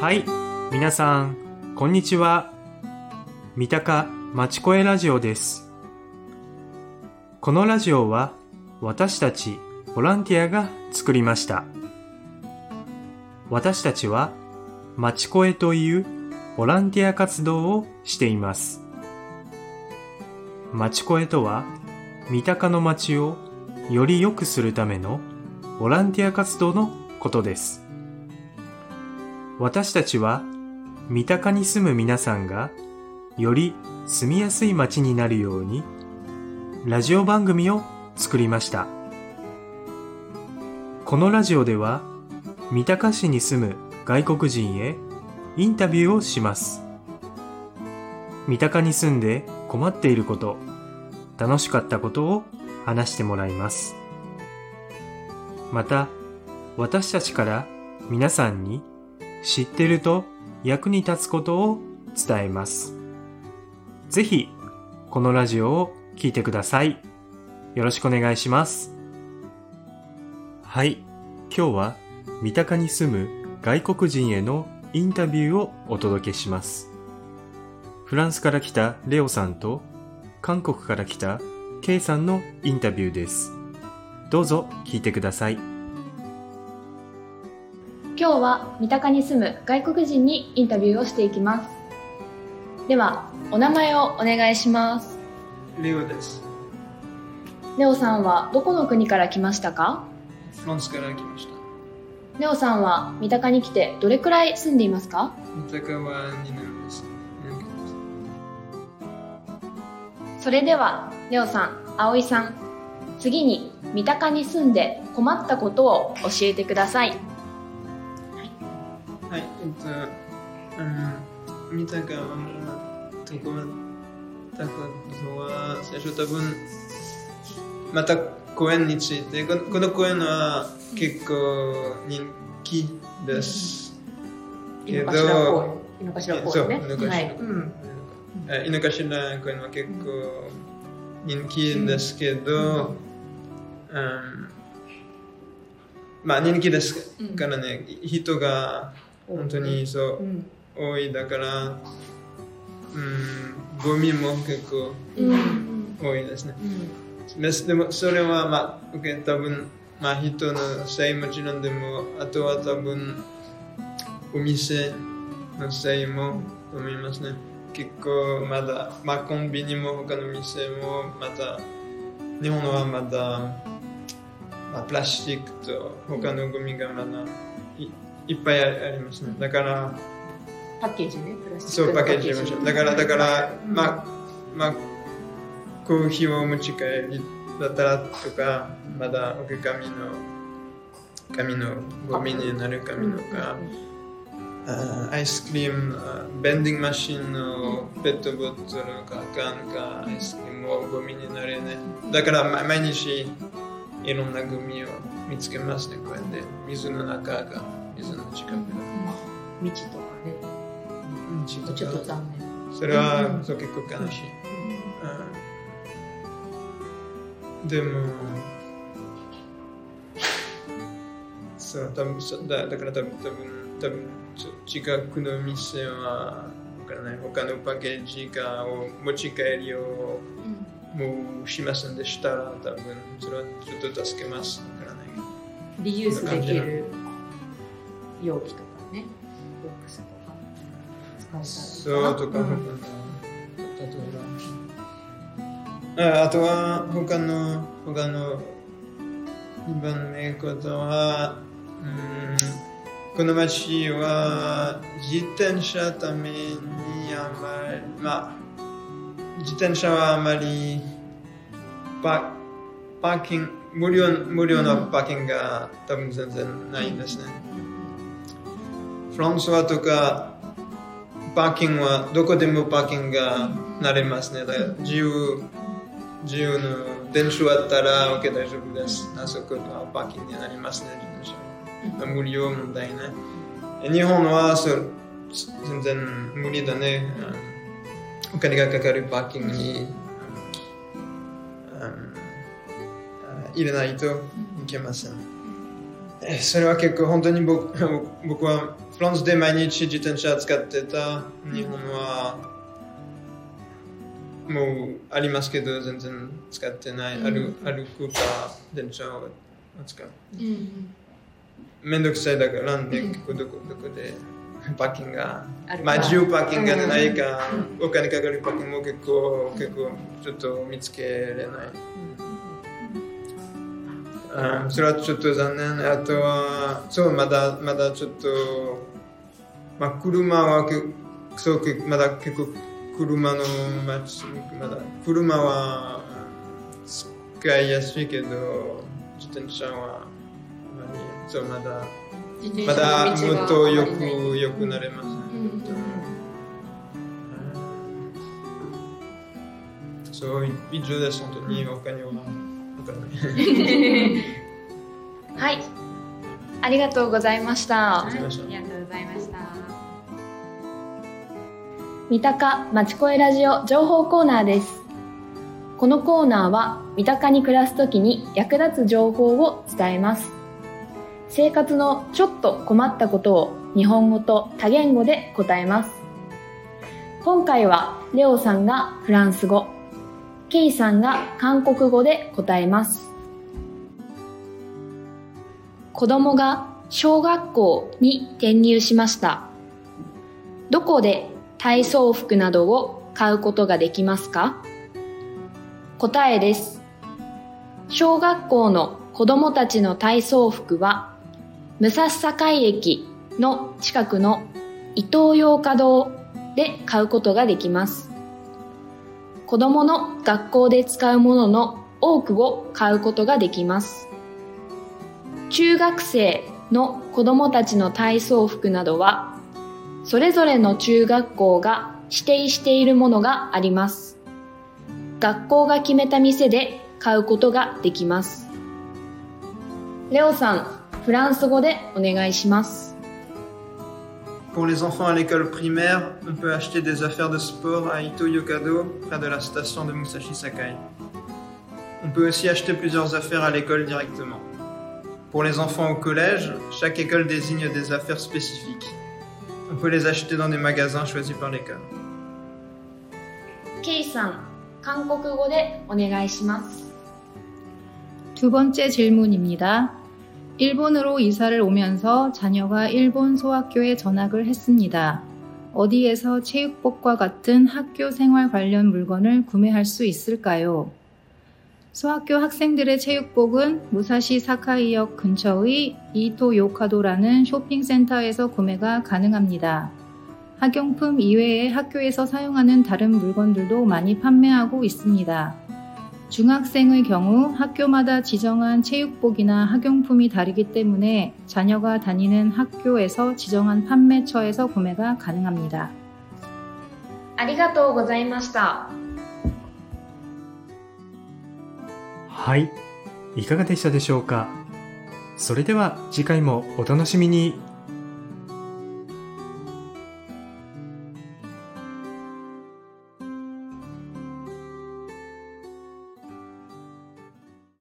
はい、皆さんこんにちは。三鷹まちこえラジオです。このラジオは私たちボランティアが作りました。私たちはまちこえというボランティア活動をしています。まちこえとは三鷹の街をより良くするためのボランティア活動のことです。私たちは三鷹に住む皆さんがより住みやすい街になるようにラジオ番組を作りました。このラジオでは三鷹市に住む外国人へインタビューをします。三鷹に住んで困っていること、楽しかったことを話してもらいます。また、私たちから皆さんに知ってると役に立つことを伝えます。ぜひ、このラジオを聞いてください。よろしくお願いします。はい、今日は三鷹に住む外国人へのインタビューをお届けします。フランスから来たレオさんと韓国から来たケイさんのインタビューです。どうぞ聞いてください。 今日は三鷹に住む外国人にインタビューをしていきます。では、お名前をお願いします。 レオです。 レオさんはどこの国から来ましたか？ フランスから来ました。 レオさんは三鷹に来てどれくらい住んでいますか？ 三鷹は2年です。 それでは、レオさん、葵さん、次に三鷹に住んで困ったことを教えてください。 はい、三鷹は困ったことは最初多分また公園について、この公園は結構人気です。 井の頭公園ね。 井の頭公園は結構人気ですけど、まあ人気ですからね、人が本当に多いだから、ゴミも結構多いですね。でもそれは多分人のせいもちろんでも、あとは多分お店のせいもと思いますね。結構まだ、コンビニも他の店もまた日本はまだ、プラスチックと他のゴミがまだいっぱいありますね。だからパッケージね、プラスチックそうパッケージもだからコーヒーを持ち帰りだったらとか、まだ紙のゴミになる紙とか、アイスクリーム、ベンディングマシンのペットボトルか缶かアイスクリームもゴミになるね。だから毎日いろんなゴミを見つけますね。こうやって水の中が、水の近くが、 道とかね、ちょっと残念。 それは、結構悲しい。でもそうだから多分近くの店はわからない、他のパッケージを持ち帰りをもうしませんでしたら、多分それはちょっと助けます。わからない。 リユースできる容器とかね、ボックスとか使えたらそうとか、あとは他の2番目ことは、この街は自転車ために自転車はあまりパーキング無料のパーキングが多分全然ないですね。フランスはとかパーキングはどこでもパーキングがなれますね。だから自由の電車あったら OK 大丈夫です。あそこはパーキングになりますね。自転車無料問題ね。日本は全然無理だね。お金がかかるパーキングに入れないといけません。それは結構本当に僕はフフランスで毎日自転車使ってた。日本はもうありますけど全然使ってない。歩くか電車を使う。めんどくさいだからね、結構どこでパーキングが、自由パーキングがないか、お金かかるパーキングも結構ちょっと見つけれない。それはちょっと残念。あとは、まだちょっと、車はまだ結構車の街、車は使いやすいけど、自転車はまだもっと良くなれます。以上です。本当に他にははい、ありがとうございました。 ありがとうございました。 三鷹まちこえラジオ情報コーナーです。このコーナーは三鷹に暮らすときに役立つ情報を伝えます。生活のちょっと困ったことを日本語と多言語で答えます。今回はレオさんがフランス語、ケイさんが韓国語で答えます。子供が小学校に転入しました。どこで体操服などを買うことができますか？答えです。小学校の子供たちの体操服は武蔵境駅の近くのイトーヨーカドーで買うことができます。子供の学校で使うものの多くを買うことができます。中学生の子供たちの体操服などはそれぞれの中学校が指定しているものがあります。学校が決めた店で買うことができます。レオさん、フランス語でお願いします。 Pour les enfants à l'école primaire, on peut acheter des affaires de sport à Ito-Yokado, près de la station de Musashi Sakai. On peut aussi acheter plusieurs affaires à l'école directement. Pour les enfants au collège, chaque école désigne des affaires spécifiques. On peut les acheter dans des magasins choisis par l'école. ケイさん、韓国語でお願いします。 두 번째 질문입니다. 일본으로 이사를 오면서 자녀가 일본 소학교에 전학을 했습니다. 어디에서 체육복과 같은 학교 생활 관련 물건을 구매할 수 있을까요? 소학교 학생들의 체육복은 무사시 사카이역 근처의 이토 요카도라는 쇼핑센터에서 구매가 가능합니다. 학용품 이외에 학교에서 사용하는 다른 물건들도 많이 판매하고 있습니다. 중학생의 경우 학교마다 지정한 체육복이나 학용품이 다르기 때문에 자녀가 다니는 학교에서 지정한 판매처에서 구매가 가능합니다. ありがとうございました。 はい、いかがでしたでしょうか。それでは次回もお楽しみに。